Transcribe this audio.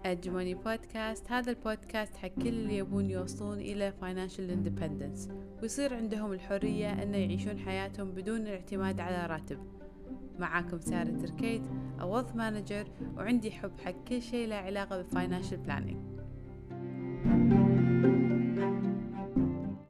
أجمني بودكاست. هذا البودكاست حق كل اللي يبون يوصلون إلى financial independence ويصير عندهم الحرية أن يعيشون حياتهم بدون الاعتماد على راتب. معاكم سارة تركيت، A wealth manager، وعندي حب حق كل شيء له علاقة بالفاينانشال بلانينج.